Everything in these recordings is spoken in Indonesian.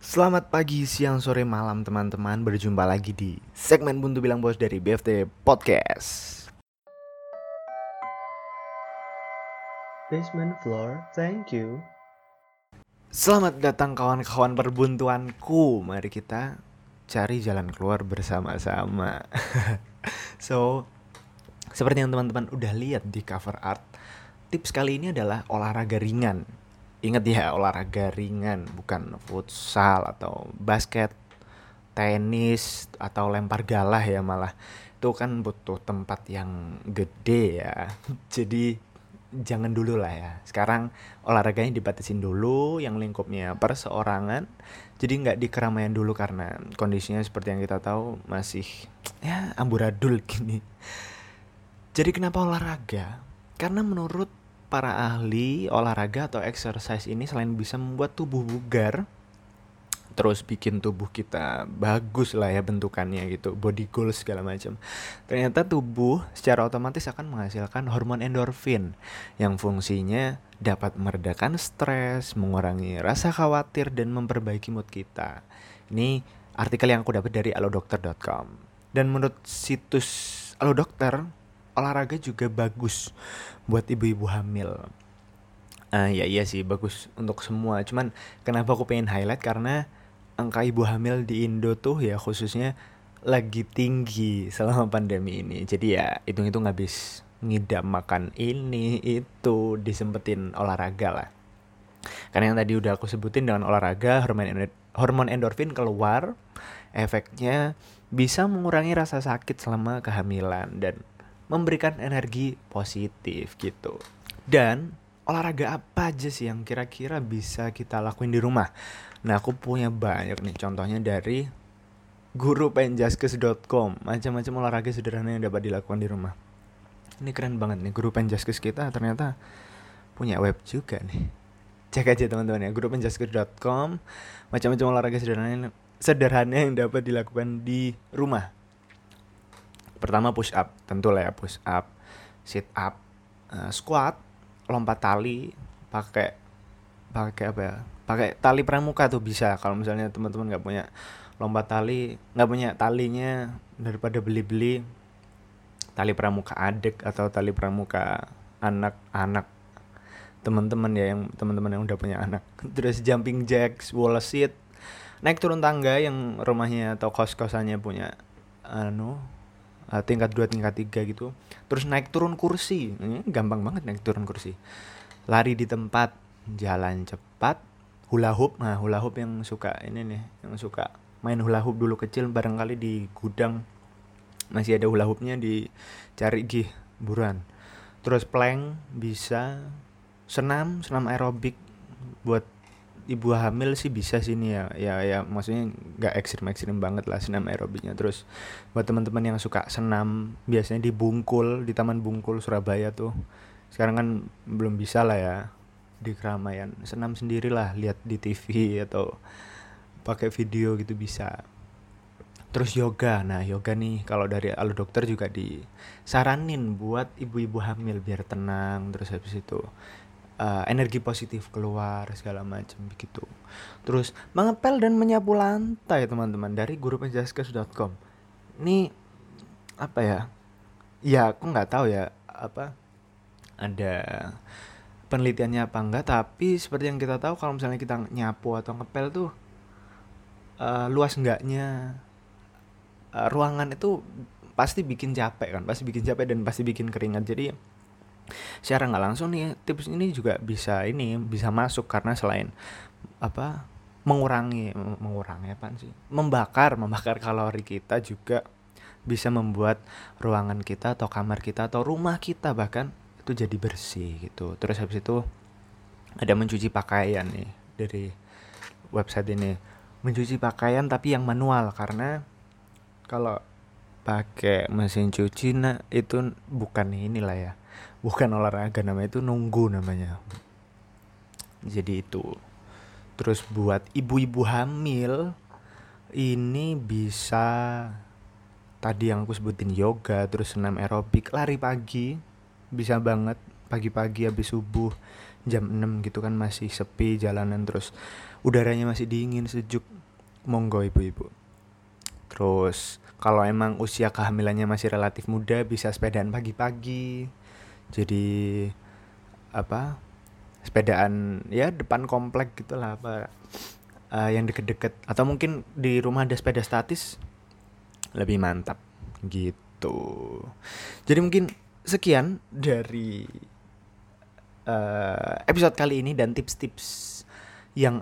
Selamat pagi, siang, sore, malam teman-teman. Berjumpa lagi di segmen Buntu Bilang Bos dari BFT Podcast. Basement floor, thank you. Selamat datang kawan-kawan perbuntuanku. Mari kita cari jalan keluar bersama-sama. So, seperti yang teman-teman udah lihat di cover art, tips kali ini adalah olahraga ringan. Ingat ya, olahraga ringan, bukan futsal atau basket, tenis atau lempar galah ya malah. Itu kan butuh tempat yang gede ya. Jadi jangan dulu lah ya. Sekarang olahraganya dibatasin dulu, yang lingkupnya perseorangan. Jadi nggak di keramaian dulu karena kondisinya seperti yang kita tahu masih ya amburadul gini. Jadi kenapa olahraga? Karena menurut para ahli olahraga atau exercise ini selain bisa membuat tubuh bugar, terus bikin tubuh kita bagus lah ya bentukannya gitu, body goals segala macam. Ternyata tubuh secara otomatis akan menghasilkan hormon endorfin yang fungsinya dapat meredakan stres, mengurangi rasa khawatir dan memperbaiki mood kita. Ini artikel yang aku dapat dari alodokter.com. Dan menurut situs Alodokter, olahraga juga bagus buat ibu-ibu hamil. Ya iya sih bagus untuk semua. Cuman kenapa aku pengen highlight karena angka ibu hamil di Indo tuh ya khususnya lagi tinggi selama pandemi ini. Jadi ya hitung-hitung habis ngidam makan ini itu disempetin olahraga lah. Karena yang tadi udah aku sebutin dengan olahraga hormon endorfin keluar, efeknya bisa mengurangi rasa sakit selama kehamilan dan memberikan energi positif gitu. Dan olahraga apa aja sih yang kira-kira bisa kita lakuin di rumah? Nah, aku punya banyak nih contohnya dari gurupenjaskes.com. Macam-macam olahraga sederhana yang dapat dilakukan di rumah. Ini keren banget nih, Guru Penjaskes kita ternyata punya web juga nih. Cek aja teman-teman ya, gurupenjaskes.com. Macam-macam olahraga sederhana yang dapat dilakukan di rumah. Pertama push up, tentu lah ya push up, sit up, squat, lompat tali, pakai pakai apa ya? Pakai tali pramuka tuh bisa. Kalau misalnya teman-teman nggak punya lompat tali, nggak punya talinya, daripada beli-beli tali pramuka adek atau tali pramuka anak-anak teman-teman ya, yang teman-teman yang udah punya anak. Terus jumping jacks, wall sit, naik turun tangga yang rumahnya atau kos-kosannya punya tingkat 2 tingkat 3 gitu. Terus naik turun kursi, ini gampang banget naik turun kursi. Lari di tempat, jalan cepat, hula hoop. Nah, hula hoop yang suka ini nih, yang suka main hula hoop dulu kecil barangkali di gudang masih ada hula hoopnya, dicari gih buruan. Terus plank bisa, senam aerobik buat ibu hamil sih bisa sini ya maksudnya nggak ekstrim banget lah senam aerobiknya. Terus buat teman-teman yang suka senam biasanya di Bungkul, di Taman Bungkul Surabaya tuh sekarang kan belum bisa lah ya di keramaian, senam sendirilah, lihat di TV atau pakai video gitu bisa. Terus yoga, nah yoga nih kalau dari Alo Dokter juga disaranin buat ibu-ibu hamil biar tenang. Terus habis itu energi positif keluar segala macam begitu. Terus mengepel dan menyapu lantai teman-teman dari gurupenjaskes.com. Ini apa ya? Ya aku nggak tahu ya apa ada penelitiannya apa enggak, tapi seperti yang kita tahu kalau misalnya kita nyapu atau ngepel tuh luas enggaknya ruangan itu pasti bikin capek kan, pasti bikin capek dan pasti bikin keringat. Jadi secara nggak langsung nih tips ini juga bisa masuk karena selain apa mengurangi apa sih, membakar kalori kita, juga bisa membuat ruangan kita atau kamar kita atau rumah kita bahkan itu jadi bersih gitu. Terus habis itu ada mencuci pakaian nih dari website ini, mencuci pakaian tapi yang manual, karena kalau pakai mesin cuci itu bukan inilah ya, bukan olahraga, namanya itu nunggu namanya. Jadi itu. Terus buat ibu-ibu hamil ini bisa tadi yang aku sebutin, yoga, terus senam aerobik, lari pagi bisa banget pagi-pagi habis subuh jam 6 gitu kan masih sepi jalanan, terus udaranya masih dingin sejuk, monggo ibu-ibu. Terus kalau emang usia kehamilannya masih relatif muda bisa sepedaan pagi-pagi. Jadi apa? Sepedaan ya depan komplek gitulah, apa yang deket-deket, atau mungkin di rumah ada sepeda statis lebih mantap gitu. Jadi mungkin sekian dari episode kali ini dan tips-tips yang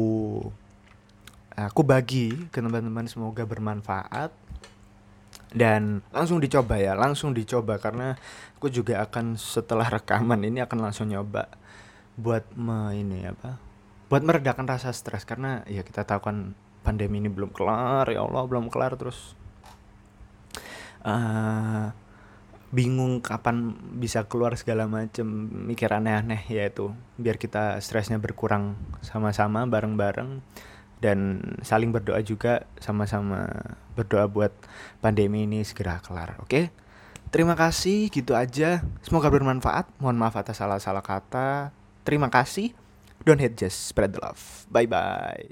aku bagi ke teman-teman, semoga bermanfaat dan langsung dicoba karena aku juga akan setelah rekaman ini akan langsung nyoba buat buat meredakan rasa stres, karena ya kita tahu kan pandemi ini belum kelar, ya Allah belum kelar, terus bingung kapan bisa keluar segala macem, mikir aneh-aneh, yaitu biar kita stresnya berkurang sama-sama bareng-bareng dan saling berdoa juga, sama-sama berdoa buat pandemi ini segera kelar. Oke? Terima kasih, gitu aja. Semoga bermanfaat. Mohon maaf atas salah-salah kata. Terima kasih. Don't hate, just spread the love. Bye-bye.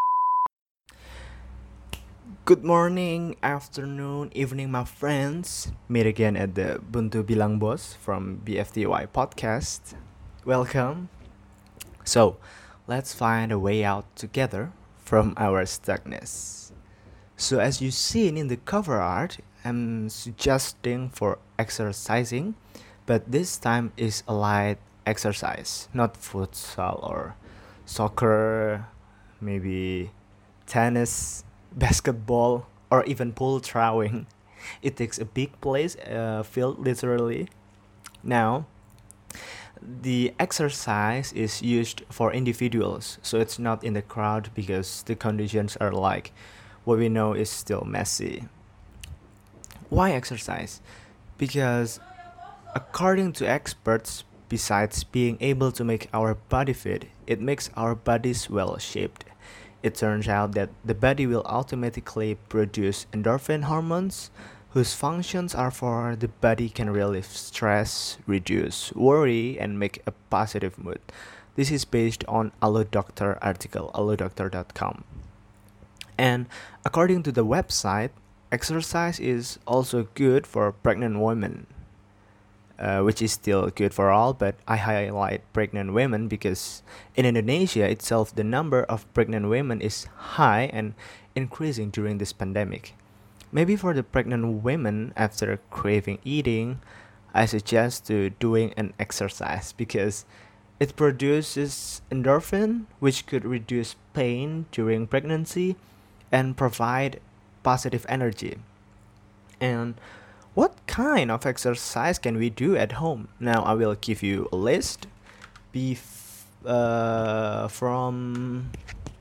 Good morning, afternoon, evening, my friends. Meet again at the Buntu Bilang Bos from BFTY podcast. Welcome. So, let's find a way out together from our stuckness. So, as you seen in the cover art, I'm suggesting for exercising, but this time is a light exercise, not futsal or soccer, maybe tennis, basketball, or even pool throwing. It takes a big place, field literally. Now, the exercise is used for individuals, so it's not in the crowd because the conditions are like what we know is still messy. Why exercise? Because according to experts, besides being able to make our body fit, it makes our bodies well shaped. It turns out that the body will automatically produce endorphin hormones, whose functions are for the body can relieve stress, reduce worry, and make a positive mood. This is based on AlloDoctor article, allodoctor.com. And according to the website, exercise is also good for pregnant women. Which is still good for all, but I highlight pregnant women because in Indonesia itself, the number of pregnant women is high and increasing during this pandemic. Maybe for the pregnant women after craving eating, I suggest to doing an exercise because it produces endorphin, which could reduce pain during pregnancy and provide positive energy. And what kind of exercise can we do at home? Now I will give you a list from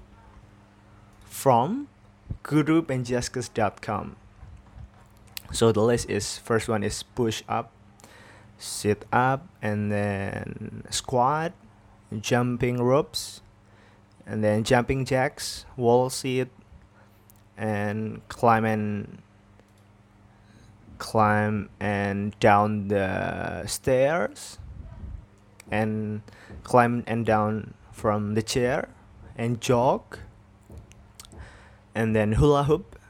gurupenjaskes.com. So the list is, first one is push up, sit up, and then squat, jumping ropes, and then jumping jacks, wall sit, and climb and down the stairs, and climb and down from the chair, and jog, and then hula hoop,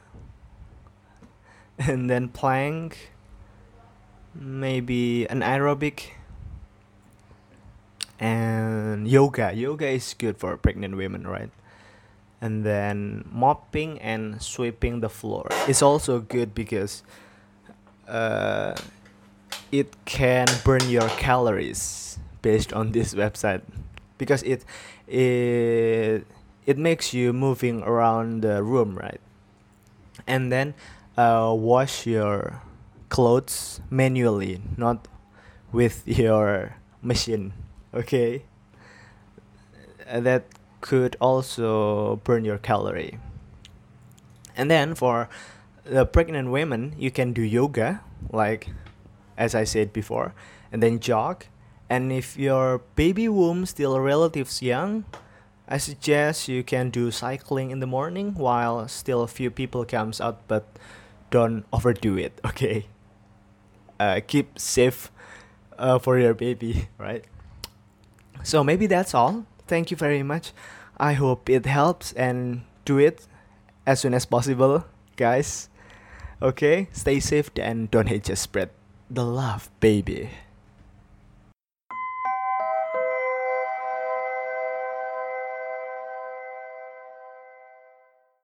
and then plank, maybe an aerobic, and yoga. Yoga is good for pregnant women, right? And then mopping and sweeping the floor is also good because it can burn your calories based on this website, because it makes you moving around the room, right? And then wash your clothes manually, not with your machine. Okay, that could also burn your calorie. And then for the pregnant women, you can do yoga, like as I said before, and then jog. And if your baby womb still relatives young, I suggest you can do cycling in the morning while still a few people comes out, but don't overdo it, okay? Keep safe for your baby, right? So maybe that's all. Thank you very much. I hope it helps, and do it as soon as possible, guys. Okay, stay safe and don't hate, just spread the love, baby.